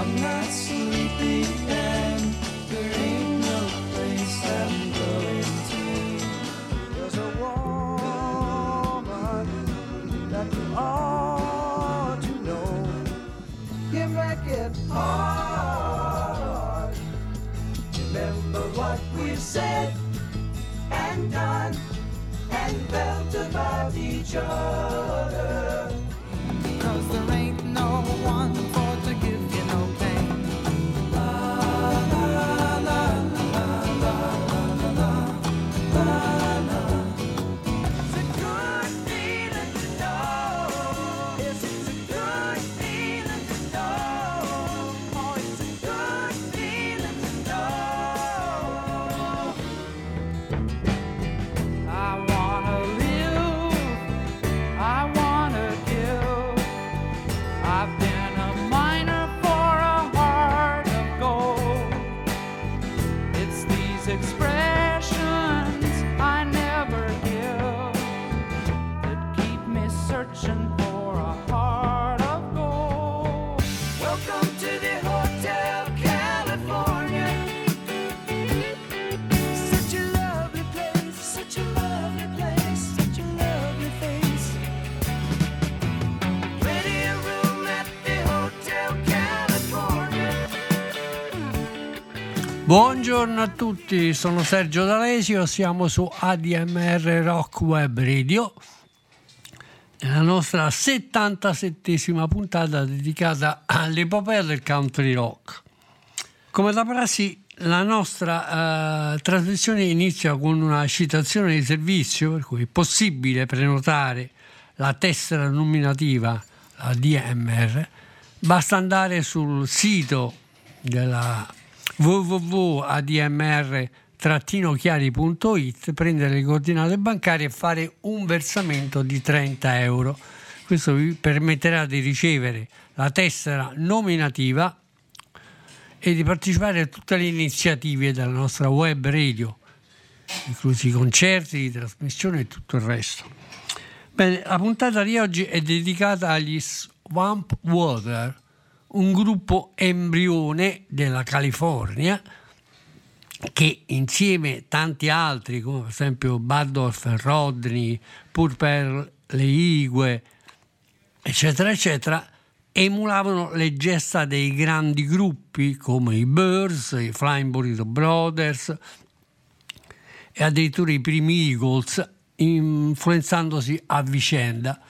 I'm not sleepy and there ain't no place I'm going to. There's a woman that you ought to know. You make it hard. Remember what we've said and done and felt about each other. 'Cause there ain't no one for to give you no pain. La la la la la la la la. It's a good feeling to know. Yes, it's a good feeling to know. Oh, it's a good feeling to know. I wanna live, I wanna give. I've been a miner for a heart of gold. It's these expressions I never give that keep me searching for a heart of gold. Welcome to the Hotel California. Such a lovely place, such a lovely place, such a lovely face. Ready a room at the Hotel California. Buongiorno a tutti, sono Sergio D'Alesio, siamo su ADMR Rock Web Radio, nella nostra 77esima puntata dedicata all'epopea del country rock. Come da prassi, la nostra trasmissione inizia con una citazione di servizio, per cui è possibile prenotare la tessera nominativa, la DMR, basta andare sul sito della www.admr-chiari.it, prendere le coordinate bancarie e fare un versamento di 30 euro. Questo vi permetterà di ricevere la tessera nominativa e di partecipare a tutte le iniziative della nostra web radio, inclusi i concerti, di trasmissione e tutto il resto. Bene, la puntata di oggi è dedicata agli Swamp Water, un gruppo embrione della California che insieme tanti altri, come per esempio Bardolph and Rodney, Purple, Le Igue, eccetera, eccetera, emulavano le gesta dei grandi gruppi come i Byrds, i Flying Burrito Brothers e addirittura i primi Eagles, influenzandosi a vicenda.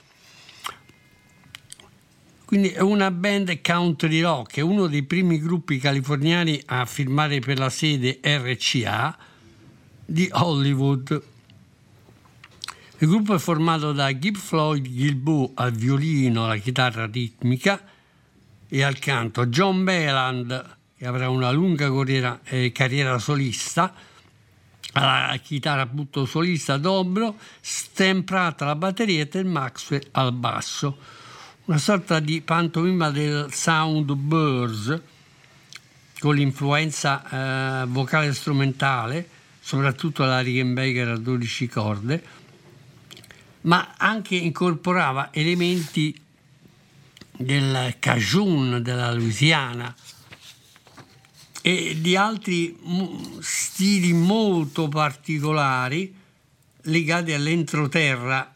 Quindi è una band country rock, è uno dei primi gruppi californiani a firmare per la sede RCA di Hollywood. Il gruppo è formato da Gib Floyd Guilbeault al violino, alla chitarra ritmica e al canto, John Beland, che avrà una lunga carriera solista, alla chitarra appunto solista dobro, Stan Pratt alla batteria e Ted Maxwell al basso. Una sorta di pantomima del sound Byrds con l'influenza vocale strumentale, soprattutto la Rickenbacker a 12 corde, ma anche incorporava elementi del Cajun della Louisiana e di altri stili molto particolari legati all'entroterra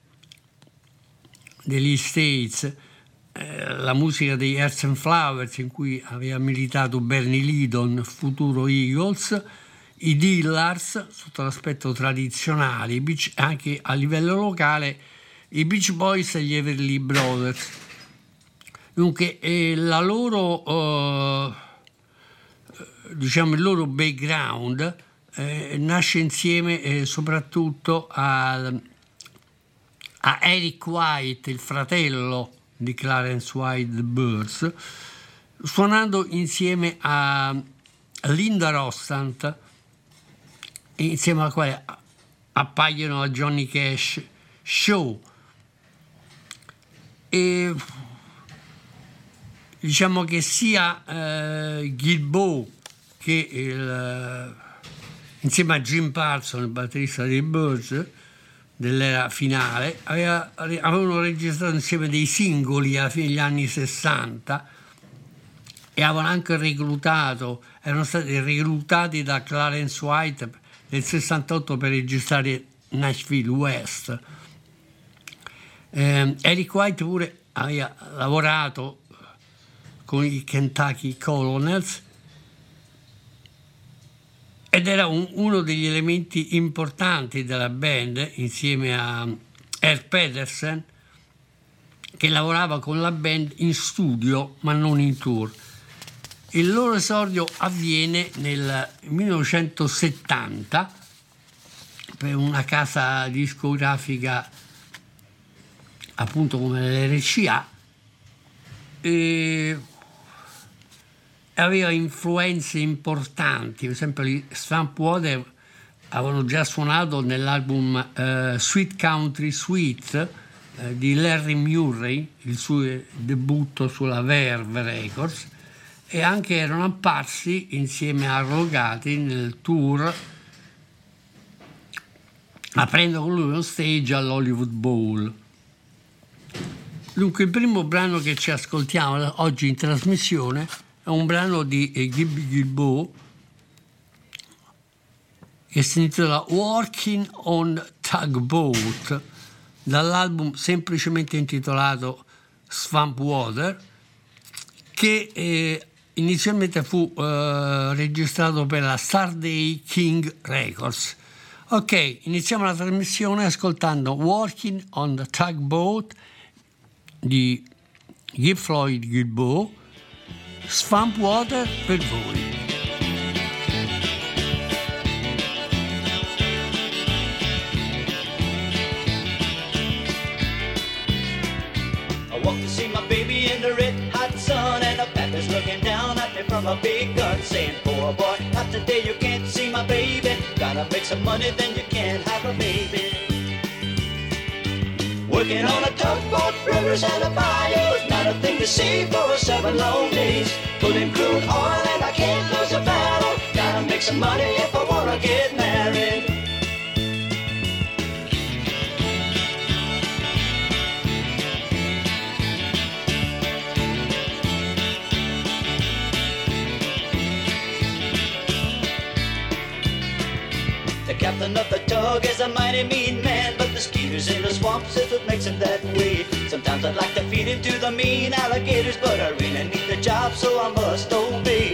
degli States, la musica degli Earth and Flowers, in cui aveva militato Bernie Lidon, futuro Eagles, i Dillars sotto l'aspetto tradizionale, anche a livello locale i Beach Boys e gli Everly Brothers. Dunque la loro il loro background nasce insieme soprattutto a Eric White, il fratello di Clarence White The Byrds, suonando insieme a Linda Ronstadt, insieme alla quale appaiono a Johnny Cash Show. E diciamo che sia Guilbeault che insieme a Jim Parsons, il batterista dei Byrds dell'era finale, avevano registrato insieme dei singoli alla fine degli anni 60 e avevano anche erano stati reclutati da Clarence White nel 68 per registrare Nashville West. Eric White pure aveva lavorato con i Kentucky Colonels ed era uno degli elementi importanti della band, insieme a Herb Pedersen, che lavorava con la band in studio ma non in tour. Il loro esordio avviene nel 1970 per una casa discografica appunto come l'RCA, e aveva influenze importanti. Per esempio gli Swamp Water avevano già suonato nell'album Sweet Country Suite di Larry Murray, il suo debutto sulla Verve Records, e anche erano apparsi insieme a Rogati nel tour, aprendo con lui uno stage all'Hollywood Bowl. Dunque il primo brano che ci ascoltiamo oggi in trasmissione è un brano di Gibby Gilbo che si intitola Working on Tugboat, dall'album semplicemente intitolato Swamp Water, che inizialmente fu registrato per la Starday King Records. Ok, iniziamo la trasmissione ascoltando Working on the Tugboat di Gib Floyd Gilbo, Swamp Water per voi. I walked to see my baby in the red hot sun, and the papa's looking down at me from a big gun, saying, "Poor boy, not today, you can't see my baby. Gotta make some money, then you can't have a baby." Working on a tugboat, rivers and a bayou, not a thing to see for 7 long days. Pulling crude oil and I can't lose a battle. Gotta make some money if I wanna get married. The captain of the tug is a mighty mean man, but the skeeters in the swamps is what makes him that way. Sometimes I'd like to feed him to the mean alligators, but I really need the job, so I must obey.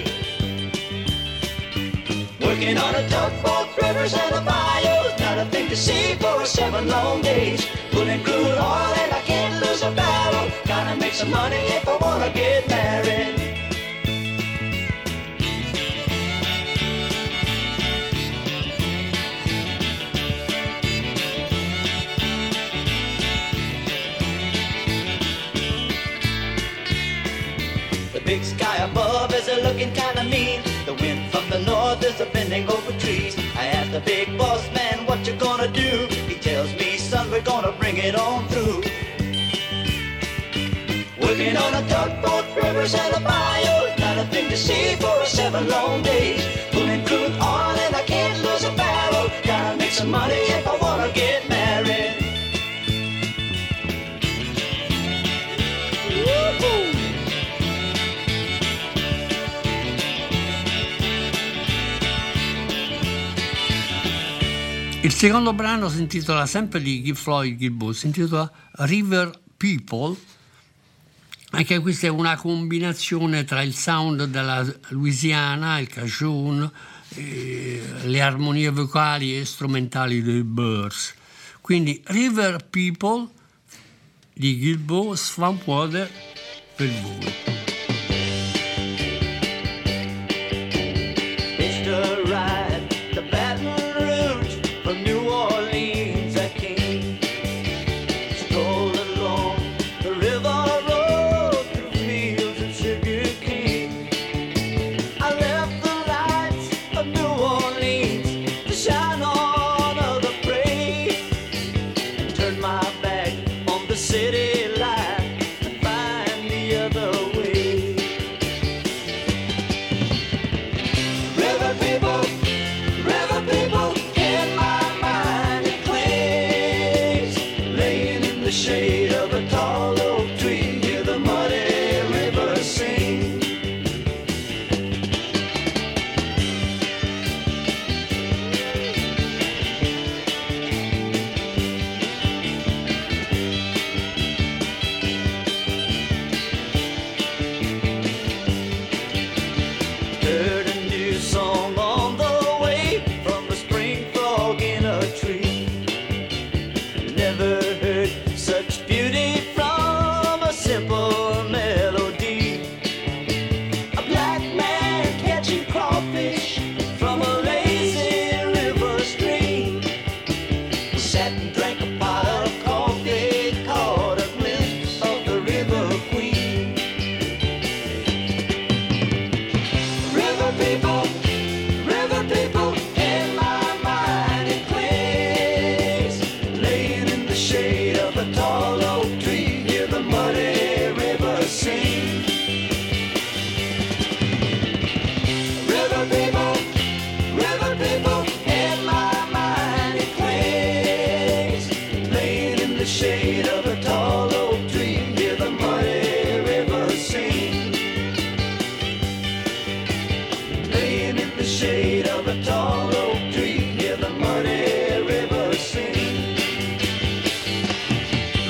Working on a tugboat, rivers and a bayou, not a thing to see for 7 long days. Pulling crude oil and I can't lose a battle. Gotta make some money if I wanna get married. Big sky above is a looking kinda mean. The wind from the north is a bending over trees. I asked the big boss man, what you gonna do? He tells me, son, we're gonna bring it on through. Working on a tugboat, rivers and a bayou, not a thing to see for 7 long days. Pulling crude oil and I can't lose a barrel. Gotta make some money if I wanna get married. Woo-hoo! Il secondo brano si intitola, sempre di Gib Floyd Gilbo, si intitola River People. Anche questa è una combinazione tra il sound della Louisiana, il Cajun, le armonie vocali e strumentali dei Byrds. Quindi River People di Gilbo, Swamp Water per voi. City life and find the other way.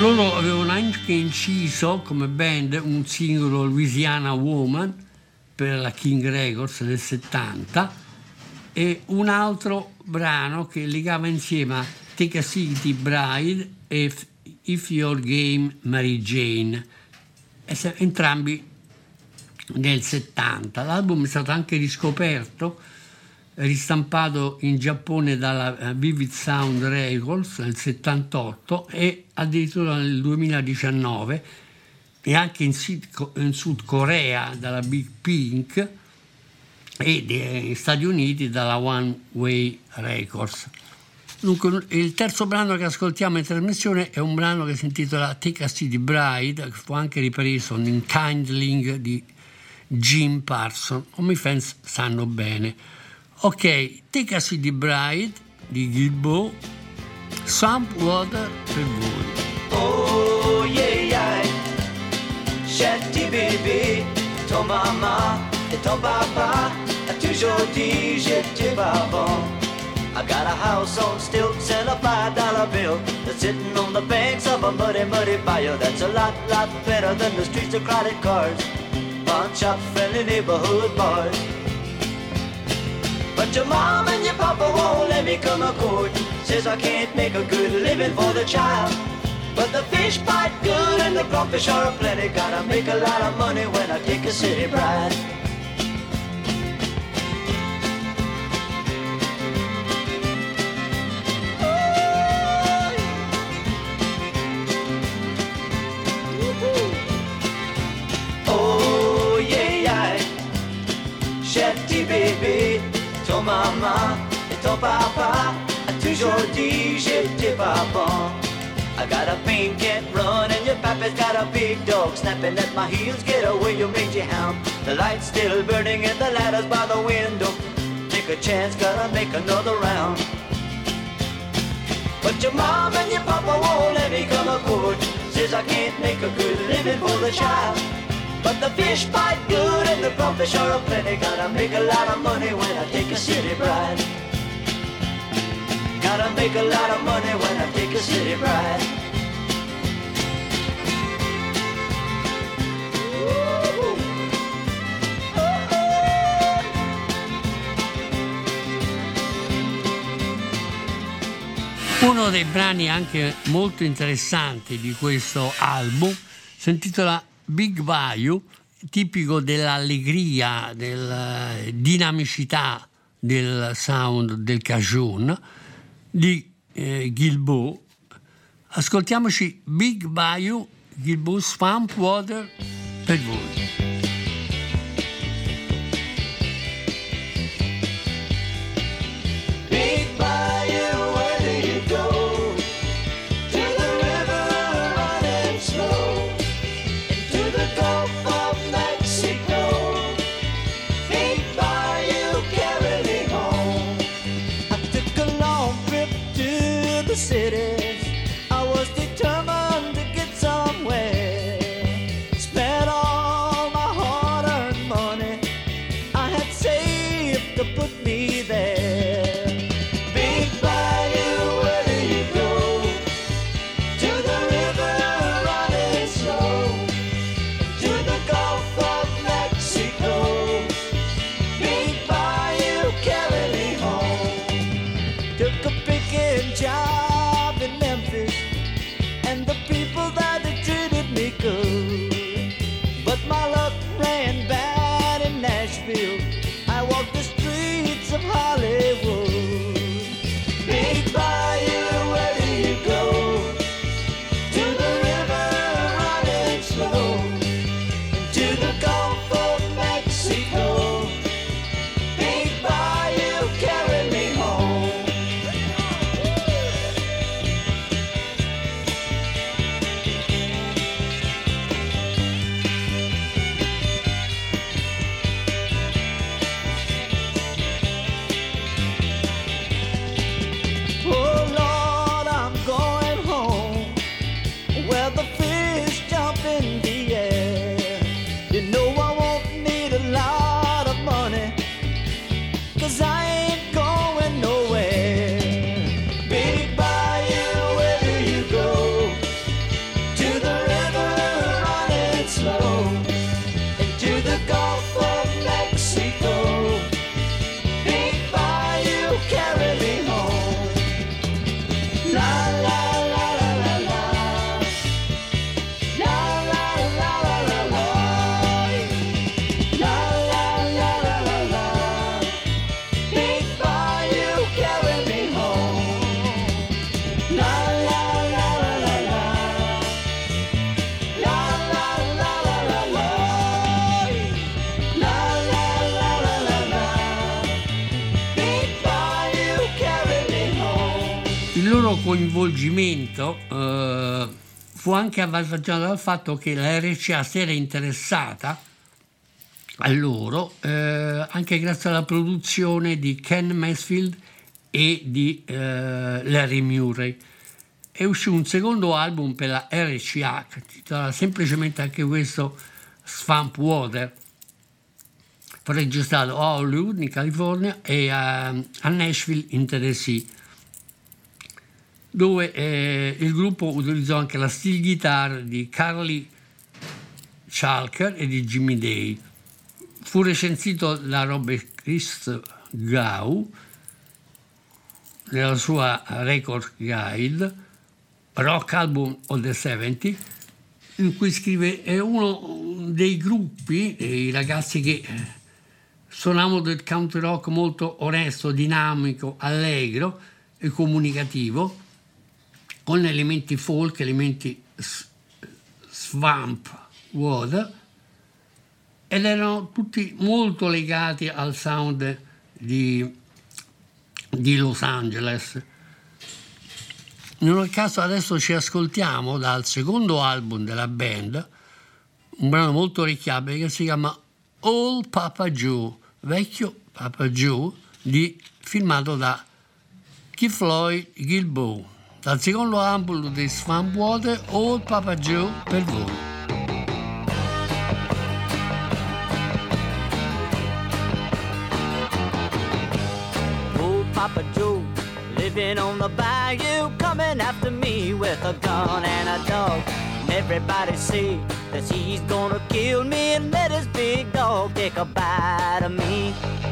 Loro avevano anche inciso come band un singolo, Louisiana Woman, per la King Records nel 70, e un altro brano che legava insieme Take a City Bride e If Your Game Mary Jane, entrambi nel 70. L'album è stato anche riscoperto, ristampato in Giappone dalla Vivid Sound Records nel 78 e addirittura nel 2019, e anche in Sud Corea dalla Big Pink e negli Stati Uniti dalla One Way Records. Dunque, il terzo brano che ascoltiamo in trasmissione è un brano che si intitola Take a City Bride, che fu anche ripreso in Kindling di Jim Parsons, come i fans sanno bene. Ok, Take a City Bride di Gilbo, Swamp Water per voi. Oh yeah yeah, Shetty baby, ton mama et ton papa, toujours dit j'étais pas bon. I got a house on stilts and a $5 bill that's sitting on the banks of a muddy, muddy bayou. That's a lot better than the streets of crowded cars, bunch of friendly neighborhood boys. But your mom and your papa won't let me come a court. Says I can't make a good living for the child. But the fish bite good and the crawfish are plenty. Gotta make a lot of money when I take a city bride. Oh yeah, yeah, Shetty baby, ton maman et ton papa a toujours dit j'étais pas bon. I got a pink cat run and your papa's got a big dog snapping at my heels. Get away, you mangy hound. The light's still burning and the ladder's by the window. Take a chance, gotta make another round. But your mom and your papa won't let me come a court. Says I can't make a good living for the child. But the fish bite good and the crawfish are plenty. Gotta make a lot of money when I take a city bride. Gotta make a lot of money when I take a city bride. Uno dei brani anche molto interessanti di questo album si intitola Big Bayou, tipico dell'allegria, della dinamicità del sound del Cajun di Gilbo. Ascoltiamoci Big Bayou, Gilbo Swamp Water per voi. Cities, I was determined to get somewhere. Spent all my hard-earned money I had saved to put me there. Big Bayou, where do you go? To the river running slow, to the Gulf of Mexico. Big Bayou, carry me home. Took a picking job in Memphis, and the people that they treated me good. But my luck ran bad in Nashville. I walked the streets of Hollywood. Big Bayou, where do you go? To the river running slow, to the Gulf of Mexico. Big Bayou, carry me home. loro coinvolgimento fu anche avvantaggiato dal fatto che la RCA si era interessata a loro anche grazie alla produzione di Ken Mansfield e di Larry Murray. E uscì un secondo album per la RCA che si intitola semplicemente anche questo Swamp Water, registrato a Hollywood in California e a Nashville in Tennessee, dove il gruppo utilizzò anche la steel guitar di Carly Chalker e di Jimmy Day. Fu recensito da Robert Christgau nella sua Record Guide Rock Album of the 70, in cui scrive: è uno dei gruppi, i ragazzi che suonavano del country rock molto onesto, dinamico, allegro e comunicativo, con elementi folk, elementi swamp water, ed erano tutti molto legati al sound di Los Angeles. In ogni caso adesso ci ascoltiamo dal secondo album della band un brano molto orecchiabile che si chiama Old Papa Joe, vecchio Papa Joe, firmato da Keith Lloyd Gilboa, dal secondo album di Swamp Water, Old Papa Joe, per voi. Old Papa Joe, living on the bayou, coming after me with a gun and a dog. And everybody say that he's gonna kill me and let his big dog take a bite of me.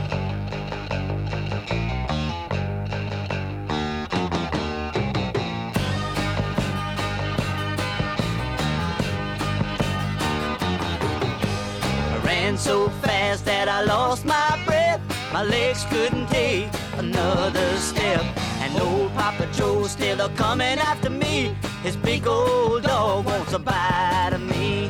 I ran so fast that I lost my breath. My legs couldn't take another step. And old Papa Joe's still a-coming after me. His big old dog wants a bite of me.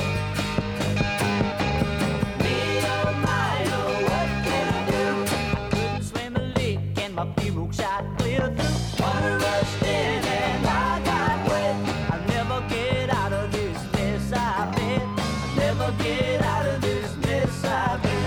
Me, oh my, oh, what can I do? Couldn't swim a lick and my pirogue shot clear through. Water rushed in and I got wet. I'll never get out of this mess, I bet. I'll never get out of this mess, I bet.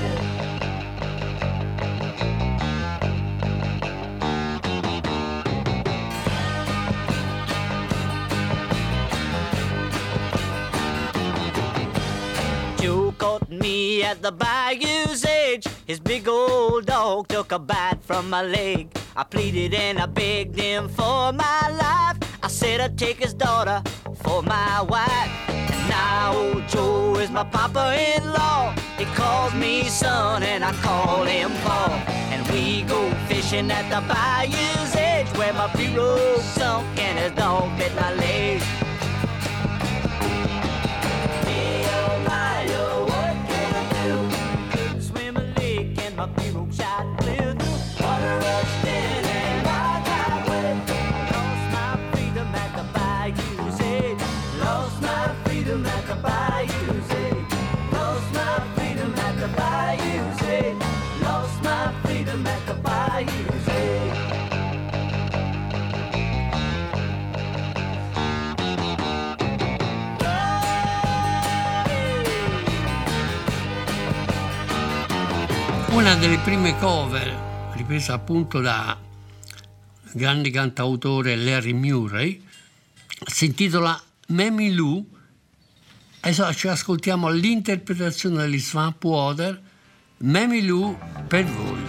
Caught me at the bayou's edge. His big old dog took a bite from my leg. I pleaded and I begged him for my life. I said I'd take his daughter for my wife. Now old Joe is my papa-in-law. He calls me son and I call him pa. And we go fishing at the bayou's edge, where my pirogue sunk and his dog bit my leg. My pirogue shot clear through. Water rushed in and I got wet. Lost my freedom at the bayou's edge. Lost my freedom at the bayou's edge. Lost my freedom at the bayou's edge. Lost my freedom at the bayou's edge. Una delle prime cover ripresa appunto da grande cantautore Larry Murray si intitola Mammy Lou. Adesso ci ascoltiamo l'interpretazione degli Swamp Water, Mammy Lou, per voi.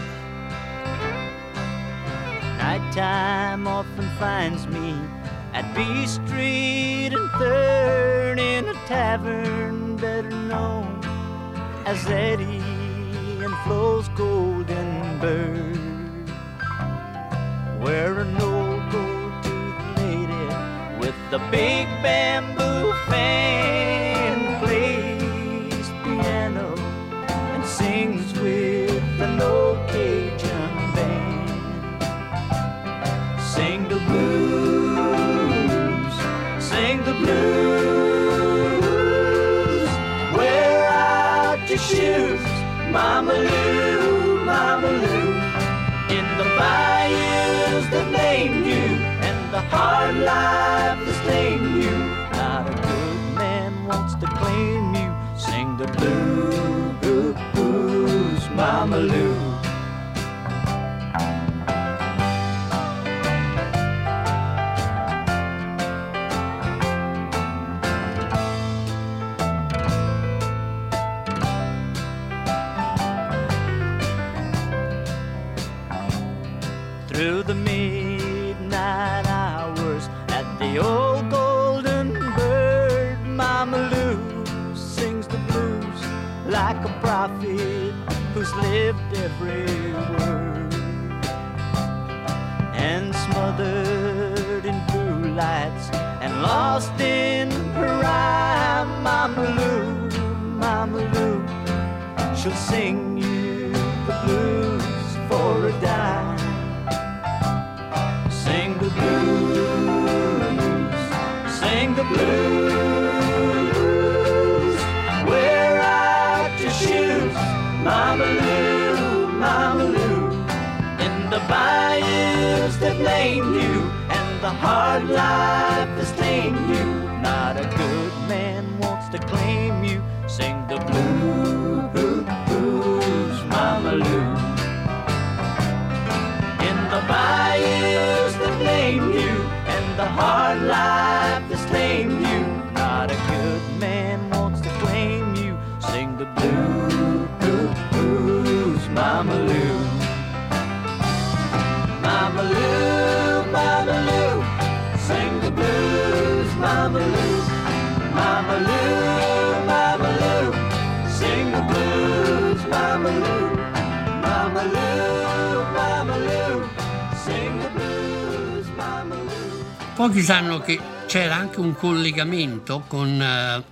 Nighttime often finds me at B Street and Third in a tavern better known as Eddie and Flo's Golden Bird, where an old gold-toothed lady with the big bamboo fan plays piano and sings with an old Cajun band. Sing the blues, sing the blues, wear out your shoes, Mama Lou, in the bayous that named you, and the hard life has claimed you. Not a good man wants to claim you. Sing the blues, Mama Lou. Through the midnight hours at the old Golden Bird, Mama Lou sings the blues like a prophet who's lived every word. And smothered in blue lights and lost in her rhyme, Mama Lou, she'll sing you the blues for a dime. Sing the blues, wear out your shoes, Mama Lou, in the bayous that lame you, and the hard life has tamed you. Not a good man wants to claim you. Sing the blues, Mama Lou, in the bayous that lame you, and the hard life that's tamed you. Not a good man wants to claim you. Sing the blues, Mama Lou. Mama Lou, Mama Lou, sing the blues, Mama Lou. Mama Lou, Mama Lou, sing the blues, Mama Lou. Mama Lou, Mama Lou, sing the blues, Mama Lou. Pochi sanno che c'era anche un collegamento con la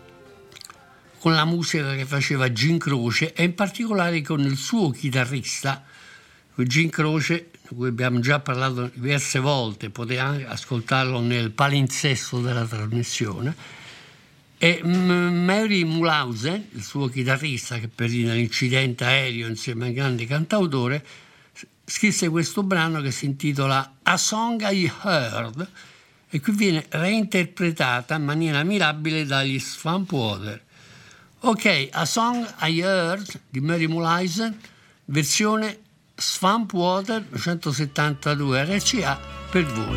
musica che faceva Gin Croce e in particolare con il suo chitarrista. Gin Croce, di cui abbiamo già parlato diverse volte, potete anche ascoltarlo nel palinsesto della trasmissione, e Mary Mulhausen, il suo chitarrista che perì nell'incidente aereo insieme al grande cantautore, scrisse questo brano che si intitola A Song I Heard e qui viene reinterpretata in maniera mirabile dagli Swamp Water. Ok, A Song I Heard di Mary Mulhausen, versione Swamp Water 172 RCA per voi.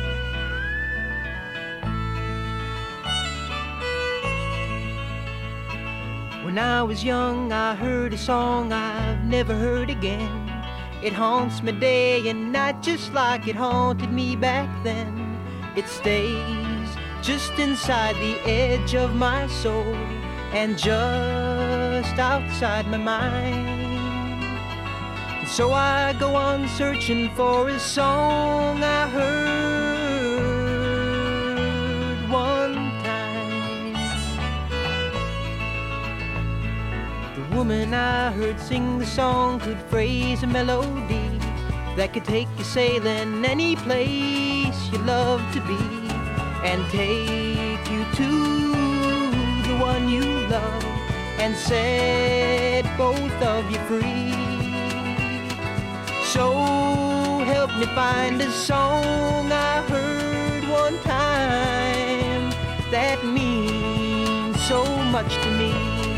When I was young, I heard a song I've never heard again. It haunts me day and night just like it haunted me back then. It stays just inside the edge of my soul and just outside my mind. So I go on searching for a song I heard one time. The woman I heard sing the song could phrase a melody that could take you sailing any place you love to be and take you to the one you love and set both of you free. So help me find a song I heard one time that means so much to me.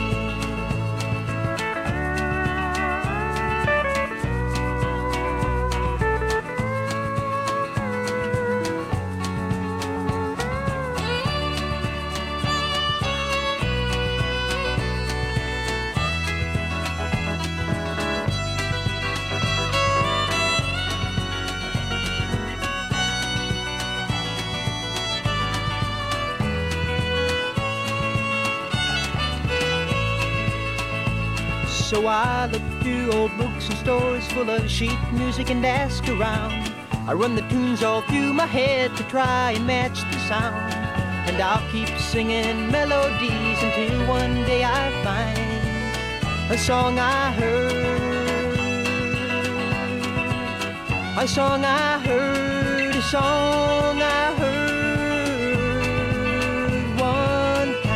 So I look through old books and stores full of sheet music and ask around. I run the tunes all through my head to try and match the sound. And I'll keep singing melodies until one day I find a song I heard. A song I heard, a song I heard one time.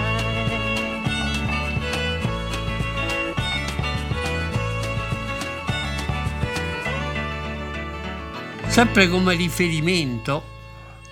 Sempre come riferimento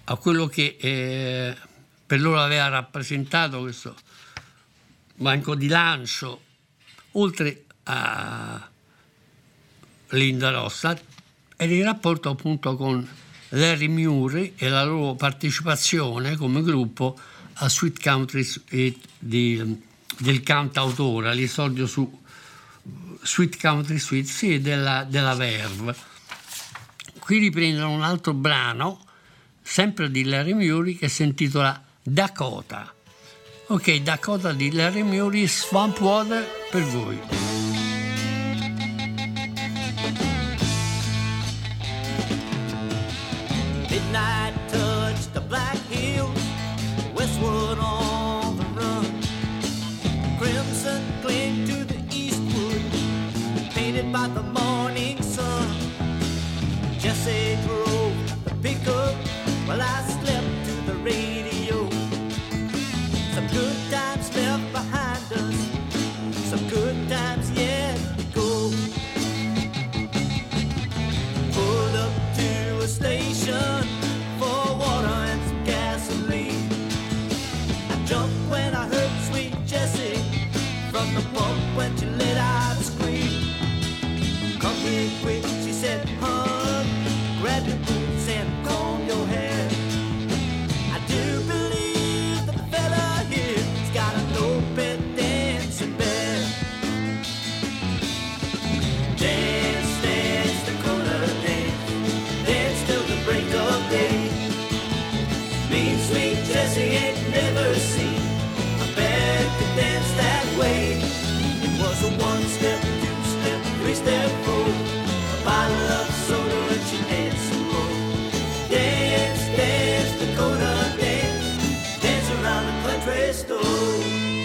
a quello che per loro aveva rappresentato questo banco di lancio, oltre a Linda Ronstadt, era il rapporto appunto con Larry Murray e la loro partecipazione come gruppo a Sweet Country Suite del cantautore, all'esordio su Sweet Country Suite, sì, della Verve. Qui riprendono un altro brano, sempre di Larry Murray, che si intitola Dakota. Ok, Dakota di Larry Murray, Swamp Water per voi. Midnight touched the Black Hills, westward on the run. Crimson clinged to the eastwood, painted by the morning sun. Jesse drove the pickup while I slept to the radio. Some good times left behind us, some good times yet to go. Pulled up to a station for water and some gasoline. I jumped when I heard sweet Jessie from the pump when she let out a scream. Come here quick, she said, hon, grab your boots and comb your hair. I do believe the fella here's got an open dancing bear. Dance, dance, Dakota, dance, dance till the break of day. Mean sweet Jessie ain't never seen a bear could dance that way. It was a one-step, two-step, three-step, four, a bottle of soda and she danced some more. Dance, dance, Dakota, dance, dance around the country store.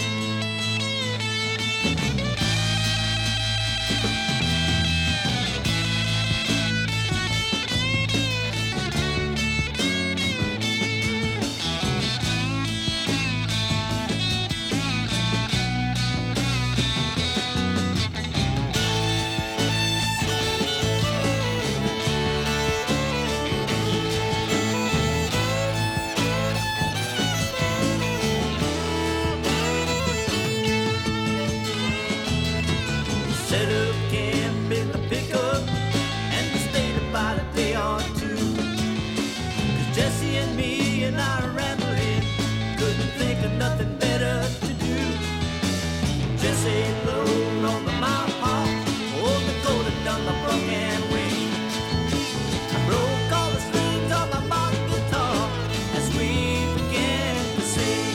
Set up camp in the pickup and we stayed about a day or two. 'Cause Jessie and me and our rambling couldn't think of nothing better to do. Jessie blowed on the mouth harp, old Dakota done the broken wing. I broke all the strings on my modern guitar as we began to sing.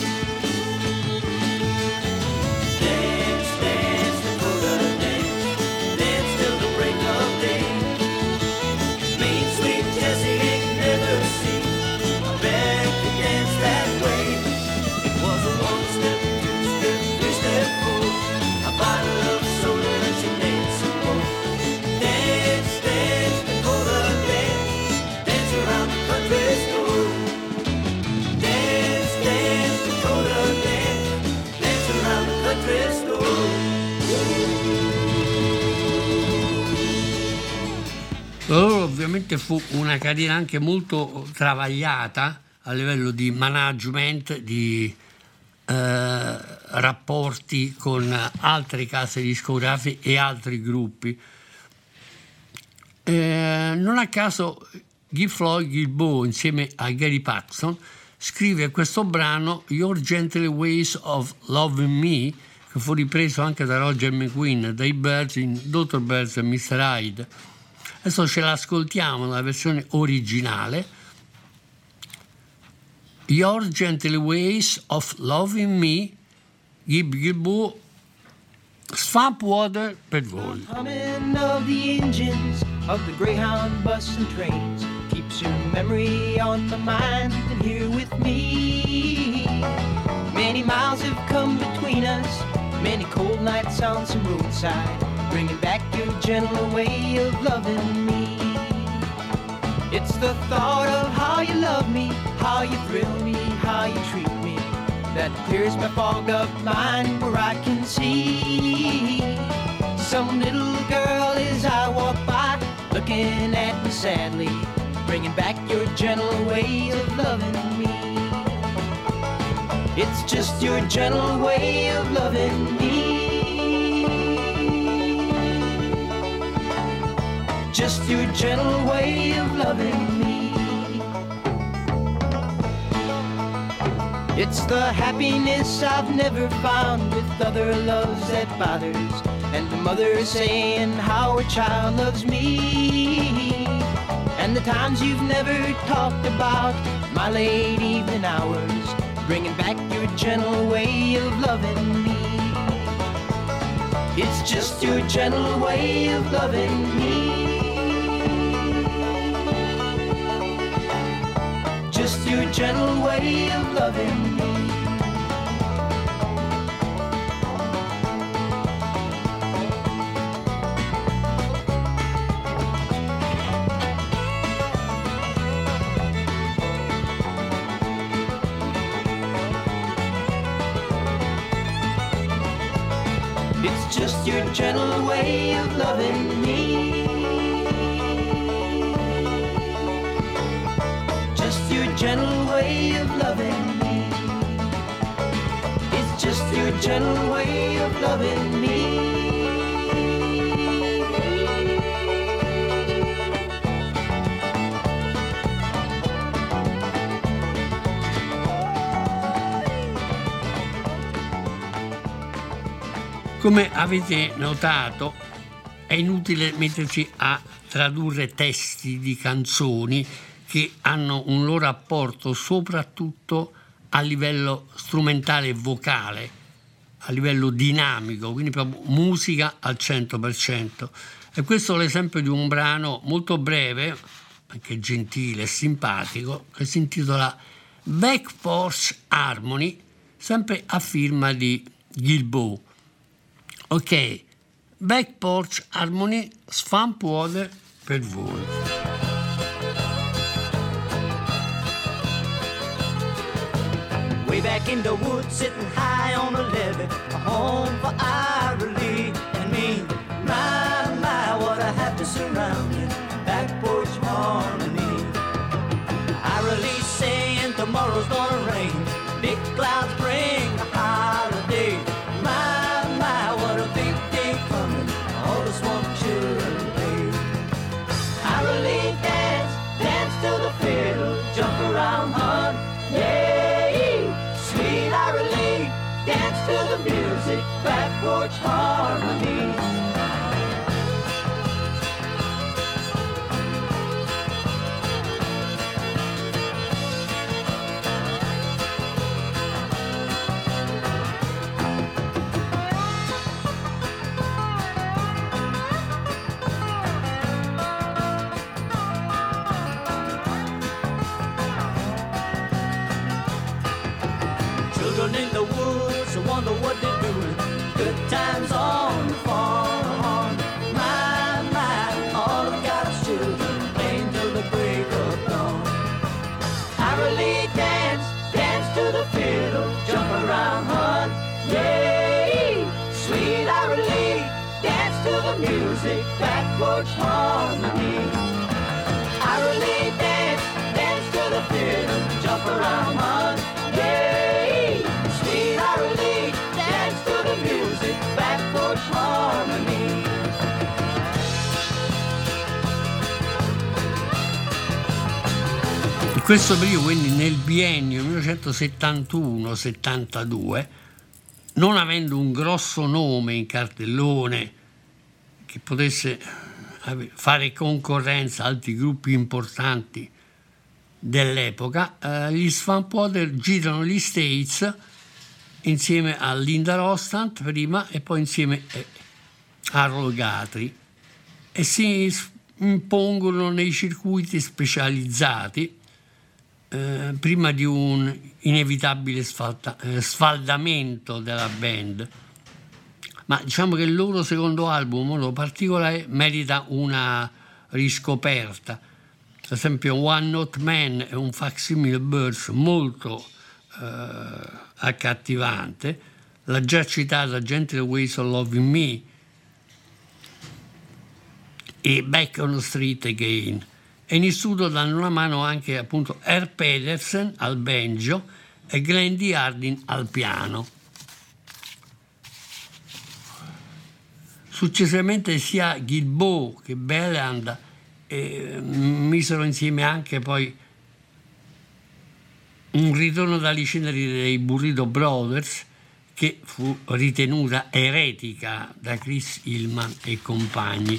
Dance, dance, Dakota, dance, dance till the break of day. Mean sweet Jessie ain't never seen a bear could dance that way. It was a one-step, two-step, three-step, four, a bottle of soda and she danced some more. Dance, dance, Dakota, dance, dance around the country store. Dance, dance, Dakota, dance, dance around the country store. Loro ovviamente fu una carriera anche molto travagliata a livello di management, di rapporti con altre case discografiche e altri gruppi. Non a caso Guy Floyd Gilboa insieme a Gary Paxton scrive questo brano Your Gentle Ways of Loving Me, che fu ripreso anche da Roger McGuinn dai Birds in Dr. Birds e Mr. Hyde. Adesso ce l'ascoltiamo nella versione originale. Your Gentle Ways of Loving Me, Guy Gilboa, Swamp Water per voi. Humming of the engines of the Greyhound bus and trains keeps your memory on my mind and here with me. Many miles have come between us, many cold nights on some roadside, bringing back your gentle way of loving me. It's the thought of how you love me, how you thrill me, how you treat me, that clears my fogged up mind where I can see some little girl as I walk by, looking at me sadly, bringing back your gentle way of loving me. It's just your gentle way of loving me. Just your gentle way of loving me. It's the happiness I've never found with other loves that bothers, and the mother saying how her child loves me, and the times you've never talked about my late evening hours, bringing back your gentle way of loving me. It's just your gentle way of loving me. Just your gentle way of loving me. It's just your gentle way of loving me. Just your gentle way of loving me. It's just your gentle way of loving me. Come avete notato, è inutile metterci a tradurre testi di canzoni che hanno un loro apporto soprattutto a livello strumentale e vocale, a livello dinamico, quindi proprio musica al 100%. E questo è l'esempio di un brano molto breve, anche gentile e simpatico, che si intitola Back Porch Harmony, sempre a firma di Gilboa. Ok, Back Porch Harmony, Swamp Water per voi. Way back in the woods, sitting high on a levee, a home for Ira Lee and me. My, what a happy surrounding, back porch harmony. Ira Lee saying tomorrow's gonna rain, big clouds bring a holiday. My, what a big day coming, all the swamp children play. Ira Lee dance to the fiddle, jump around, hunt, yeah. Sweet Ira Lee, dance to the music, back porch harmony. In the woods, I wonder what they're doing. Good times on the farm. My, all of God's children playing till the break of dawn. Ira Lee dance to the fiddle, jump around, hunt, yeah. Sweet Ira Lee, dance to the music, back porch harmony. Ira Lee dance to the fiddle, jump around, hunt, yeah. Ira Lee, dance to the music, back porch harmony. In questo periodo, quindi nel biennio 1971-72, non avendo un grosso nome in cartellone che potesse fare concorrenza a altri gruppi importanti dell'epoca, gli Swamp Water girano gli States insieme a Linda Ronstadt prima e poi insieme a Earl Guthrie e si impongono nei circuiti specializzati prima di un inevitabile sfaldamento della band. Ma diciamo che il loro secondo album, in modo particolare, merita una riscoperta. Per esempio One Note Man è un Facsimile Birds molto accattivante, la già citata Gentle Ways of Loving Me e Back on the Street Again, e in istituto danno una mano anche appunto Herb Pedersen al banjo e Glendy Hardin al piano. Successivamente sia Gilboa che Belland misero insieme anche poi un ritorno dalle ceneri dei Burrito Brothers, che fu ritenuta eretica da Chris Hillman e compagni.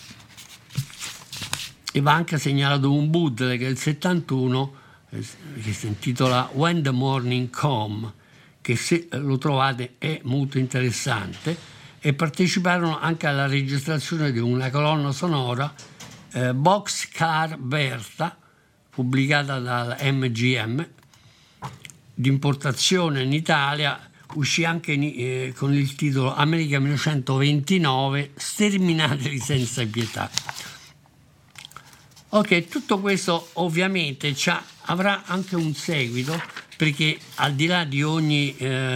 E va anche segnalato un bootleg che è il 71 che si intitola When the Morning Come, che se lo trovate è molto interessante, e parteciparono anche alla registrazione di una colonna sonora Boxcar Bertha, pubblicata dal MGM, di importazione in Italia, uscì anche con il titolo America 1929, sterminateli senza pietà. Ok, tutto questo ovviamente avrà anche un seguito, perché al di là di ogni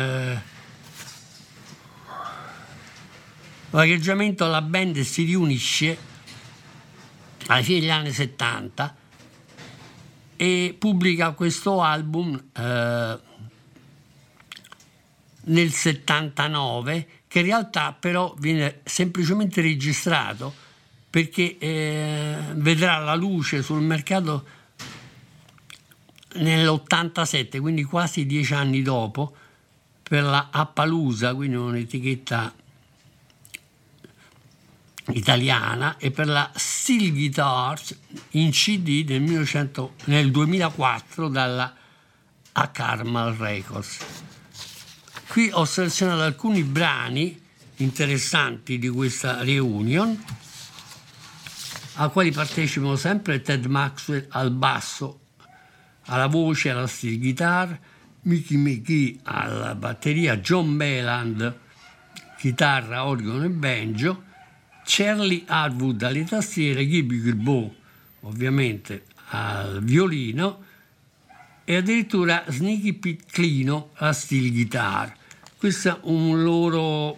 vagheggiamento, la band si riunisce alla fine degli anni 70 e pubblica questo album nel 79, che in realtà però viene semplicemente registrato, perché vedrà la luce sul mercato nell'87, quindi quasi 10 anni dopo, per la Appaloosa, quindi un'etichetta italiana, e per la Steel Guitars in CD nel 2004 dalla A Carmel Records. Qui ho selezionato alcuni brani interessanti di questa reunion, a quali partecipano sempre Ted Maxwell al basso, alla voce, alla steel guitar, Mickey McGee alla batteria, John Belland chitarra, organo e banjo, Charlie Harwood alle tastiere, Gibby Gilboa ovviamente al violino e addirittura Sneaky Pete Clino alla steel guitar. Questo è un loro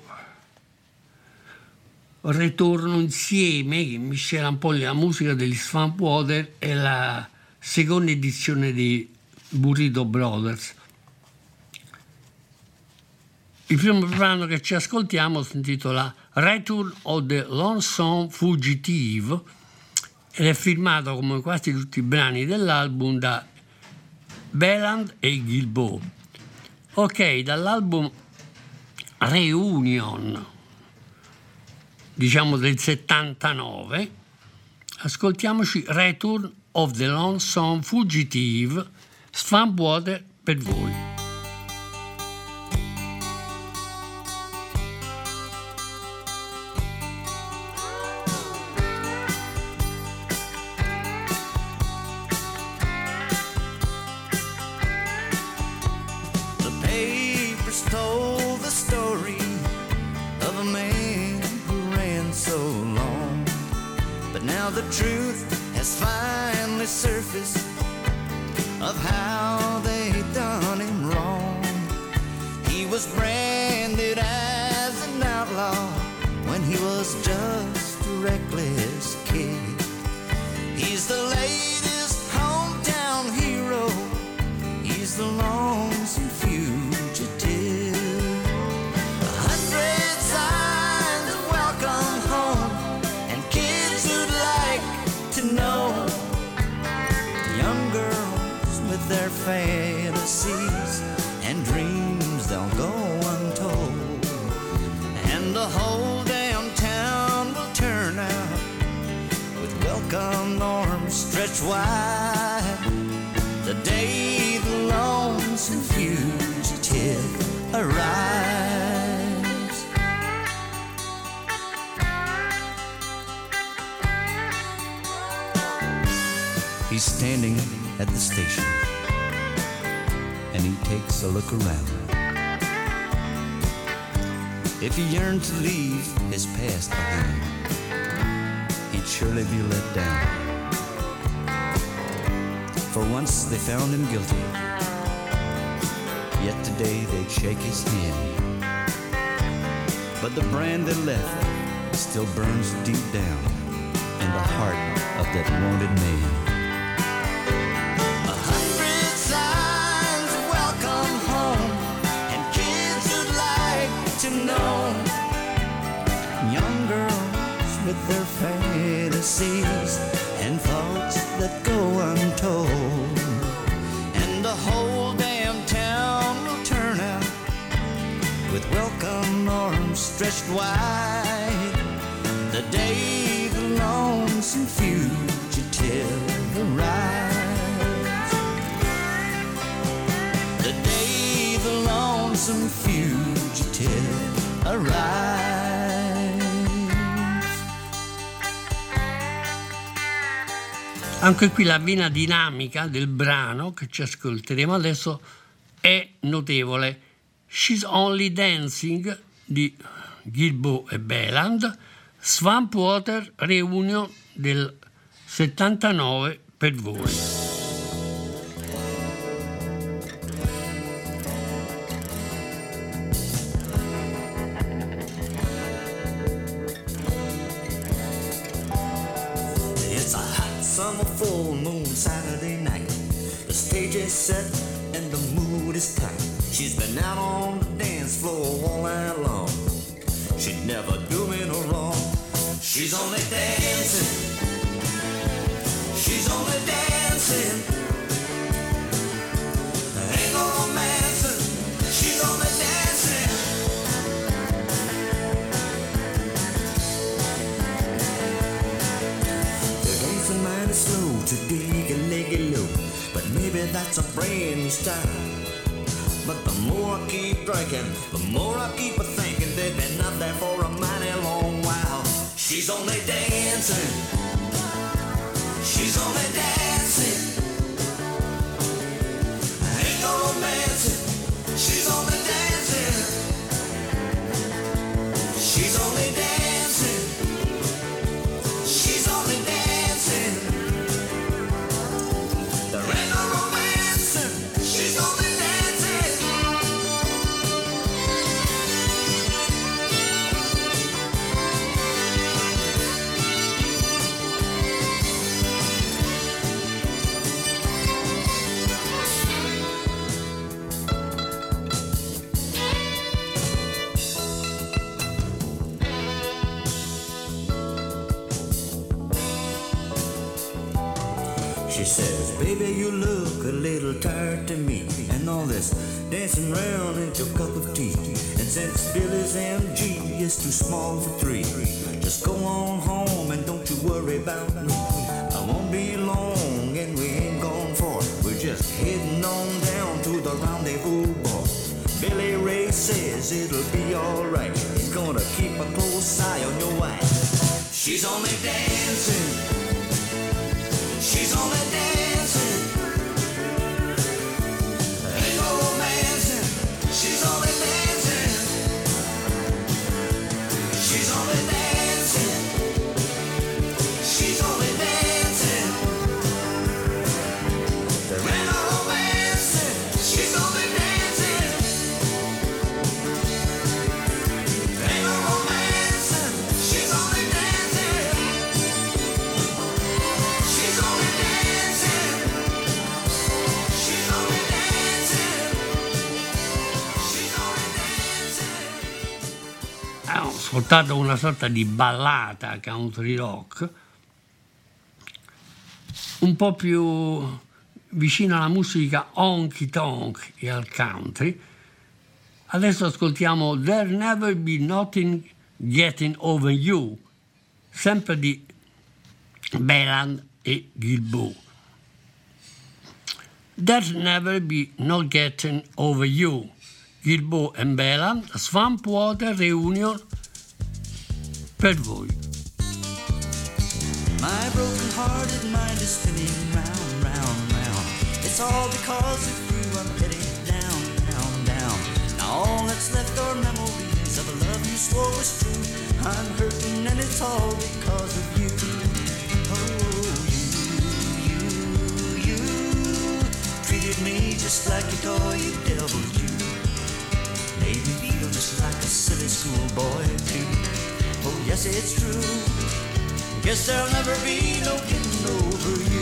ritorno insieme che miscela un po' la musica degli Swamp Water e la seconda edizione di Burrito Brothers. Il primo brano che ci ascoltiamo si intitola Return of the Lonesome Fugitive ed è firmato, come quasi tutti i brani dell'album, da Belland e Gilboa. Ok, dall'album Reunion, diciamo del 79, ascoltiamoci Return of the Lonesome Fugitive, Swamp Water per voi. The truth has finally surfaced of how they done him wrong. He was branded as an outlaw when he was just a reckless kid. He's the latest hometown hero. He's the lonesome fugitive. 100 signs of welcome home and kids who'd like to know. Young girls with their fantasies and dreams, they'll go untold. And the whole damn town will turn out with welcome arms stretched wide the day the lonesome fugitive arrives. He's standing at the station and he takes a look around. If he yearned to leave his past behind, he'd surely be let down. For once they found him guilty, yet today they'd shake his hand. But the brand they left still burns deep down in the heart of that wounded man. 100 signs of welcome home, and kids would like to know. Young girls with their fantasies and thoughts that go untold, and the whole damn town will turn out with welcome arms stretched wide. The day the lonesome fugitive arrives. The day the lonesome fugitive arrives. Anche qui la vena dinamica del brano che ci ascolteremo adesso è notevole. She's Only Dancing di Gilbo e Beland, Swamp Water Reunion del 79 per voi. It's a hot summer full moon Saturday night. The stage is set and the mood is tight. She's been out on the dance floor all night long. She'd never do me no wrong. She's only dancing. She's only dancing. There ain't no romancing. She's only dancing. They're dancing mighty slow to dig a leggy low, but maybe that's a brand new style. But the more I keep drinking, the more I keep thinking they've been up there for a mighty long while. She's only dancing. She's only dancing. Ain't no romancing. She's only dancing. She's only dancing. She's only dancing. There ain't no romancing. She's only dancing. She says, baby, you look a little tired to me, and all this dancing around ain't your cup of tea. And since Billy's MG is too small for three, just go on home and don't you worry about me. I won't be long and we ain't gone far. We're just heading on down to the rendezvous bar. Billy Ray says it'll be alright. He's gonna keep a close eye on your wife. She's only dancing. She's only dancing. Ain't no romancing. She's only dancing. She's only dancing. She's only dancing. There ain't no romancing. She's only dancing. Ain't no romancing. She's only dancing. She's only dancing. She's only dancing. She's only dancing. Ho ascoltato una sorta di ballata country rock un po' più vicina alla musica honky tonk e al country. Adesso ascoltiamo There'll Never Be Nothing Getting Over You, sempre di Beland e Gilbo. There'll Never Be No Getting Over You, Gilbo e Beland, Swamp Water Reunion per voi. My broken-hearted mind is spinning round, round, round. It's all because of you I'm heading down, down, down. Now all that's left are memories of a love you swore was true. I'm hurting and it's all because of you. Oh, you treated me just like a toy, you devil, you. Made me feel just like a silly schoolboy too. Oh yes, it's true. Guess there'll never be no getting over you.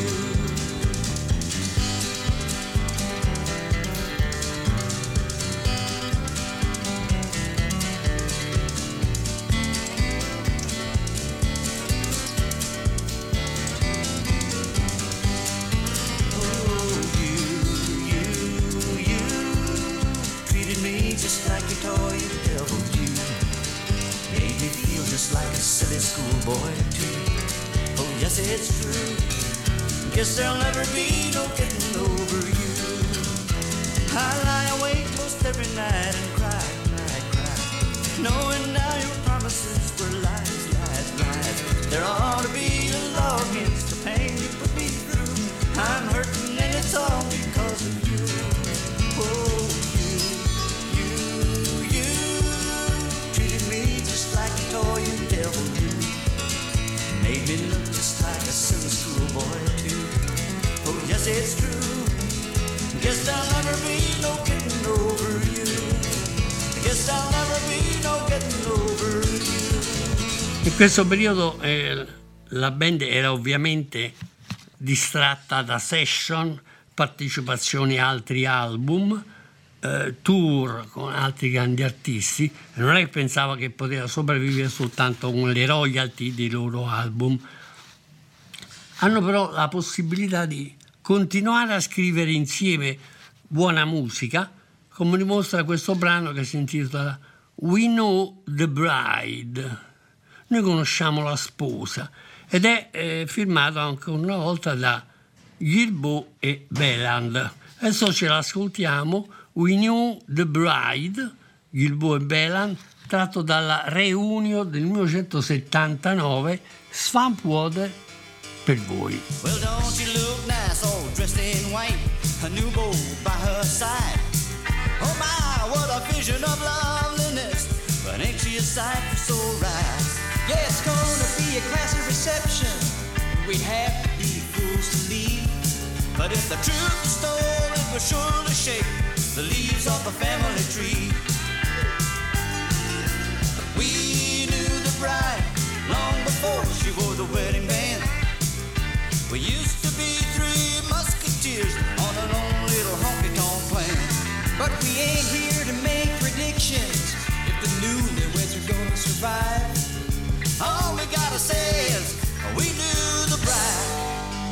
Just like a toy the devil you made me feel just like a silly schoolboy too. Oh yes, it's true. Guess there'll never be no getting over you. I lie awake most every night and cry, cry, cry, knowing now your promises were lies, lies, lies. There ought to be a law against the pain you put me through. I'm hurting and it's all because of you. Oh, toy you devil you made me look just like a silly schoolboy too. Oh yes, it's true. Guess there'll never be no getting over you. Guess there'll never be no getting over you. In questo periodo la band era ovviamente distratta da session, partecipazioni a altri album, tour con altri grandi artisti, e non è che pensava che poteva sopravvivere soltanto con le royalty dei loro album. Hanno però la possibilità di continuare a scrivere insieme buona musica, come dimostra questo brano che si intitola We Know the Bride. Noi conosciamo la sposa, ed è firmato anche una volta da Gilbo e Beland. Adesso ce l'ascoltiamo. We Knew the Bride, Gilbo e Beland, tratto dalla reunion del 1979, Swamp Water per voi. Well, don't you look nice, all dressed in white, a new beau by her side. Oh my, what a vision of loveliness, but ain't she a sight for so right? Yeah, it's gonna be a classy reception. We'd have to be fools to leave. But if the truth was told, it would surely shake the leaves off the family tree. We knew the bride long before she wore the wedding band. We used to be three musketeers on an own little honky-tonk plan. But we ain't here to make predictions if the newlyweds are gonna survive. All we gotta say is we knew the bride.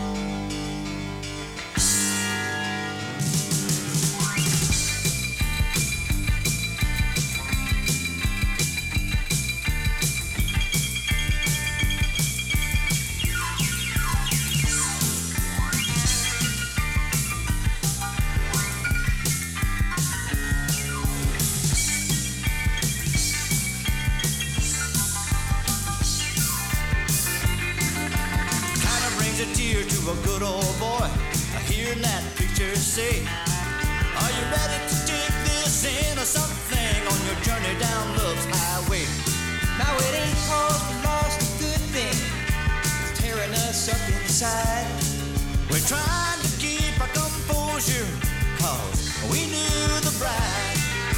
A good old boy, hearing that preacher say, are you ready to take this in or something on your journey down love's highway? Now it ain't cause we lost a good thing, it's tearing us up inside. We're trying to keep our composure, cause we knew the bride.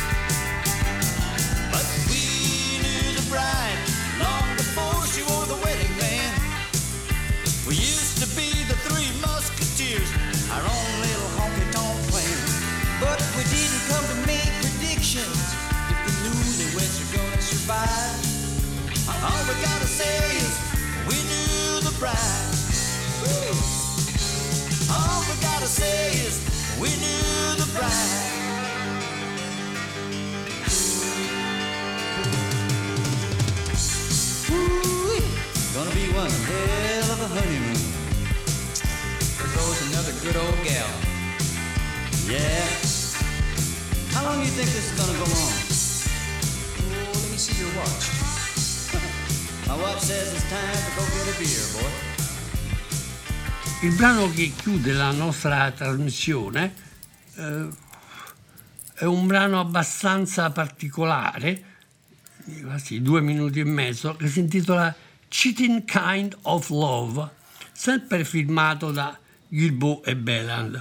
But we knew the bride long before she wore the wedding band. We used to be the three musketeers, our own little honky-tonk plan. But we didn't come to make predictions if the newlyweds are gonna survive. All we gotta say is we knew the bride. Woo. All we gotta say is we knew the bride. Woo. Gonna be one hell of a honeymoon. There goes another good old gal. Yeah. How long do you think this is gonna go on? Oh, let me see your watch. My watch says it's time to go get a beer, boy. Il brano che chiude la nostra trasmissione è un brano abbastanza particolare, quasi 2 minuti e mezzo, che si intitola Cheating Kind of Love, sempre firmato da Gilbo e Beland.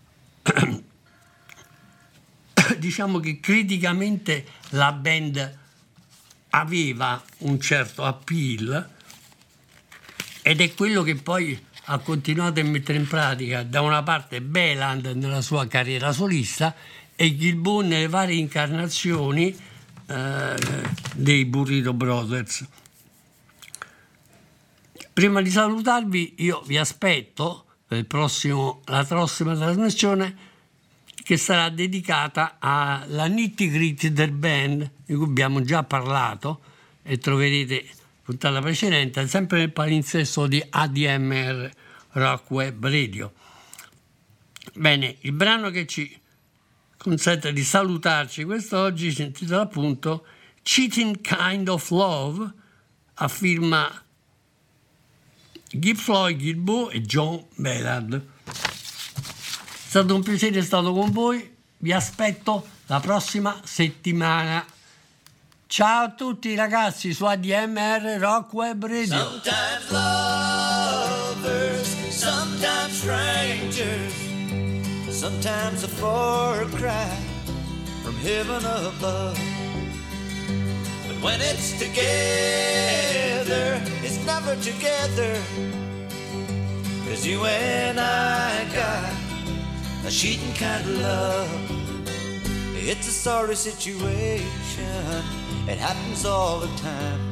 Diciamo che criticamente la band aveva un certo appeal, ed è quello che poi ha continuato a mettere in pratica da una parte Beland nella sua carriera solista e Gilmour nelle varie incarnazioni dei Burrito Brothers. Prima di salutarvi, io vi aspetto per la prossima trasmissione, che sarà dedicata alla nitty-gritty del band, di cui abbiamo già parlato e troverete puntata precedente sempre nel palinsesto di ADMR Rock Web Radio. Bene, il brano che ci consente di salutarci quest'oggi si intitola appunto Cheating Kind of Love, a firma Gib Floyd, Gilmour e John Beland. È stato un piacere, è stato con voi, vi aspetto la prossima settimana. Ciao a tutti ragazzi su ADMR Rock Web Radio. Sometimes lovers, sometimes strangers, sometimes a far cry from heaven above. But when it's together, it's never together, 'cause you and I got a cheating kind of love. It's a sorry situation, it happens all the time.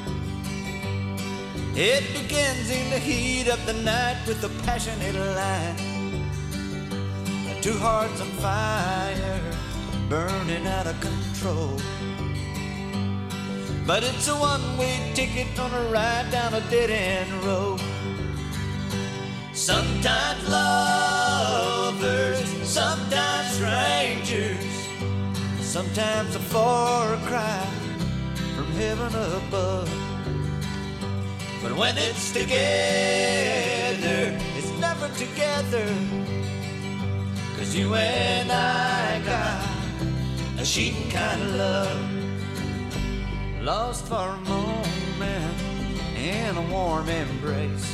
It begins in the heat of the night with a passionate line. Two hearts on fire, burning out of control. But it's a one-way ticket on a ride down a dead-end road. Sometimes lovers, sometimes strangers, sometimes a far cry from heaven above. But when it's together, it's never together, 'cause you and I got a cheating kind of love. Lost for a moment in a warm embrace,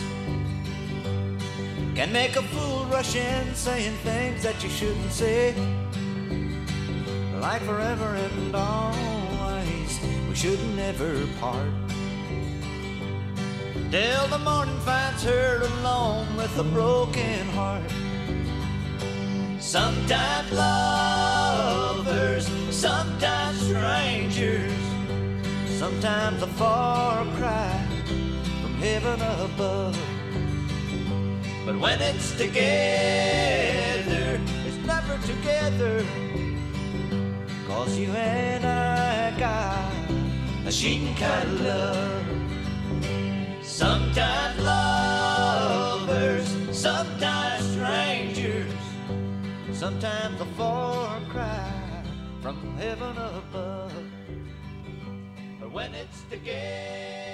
can make a fool rush in saying things that you shouldn't say. Like forever and always, we should never part, till the morning finds her alone with a broken heart. Sometimes lovers, sometimes strangers, sometimes a far cry from heaven above. But when it's together, it's never together, 'cause you and I got a cheating kind of love. Sometimes lovers, sometimes strangers, sometimes a far cry from heaven above. But when it's together,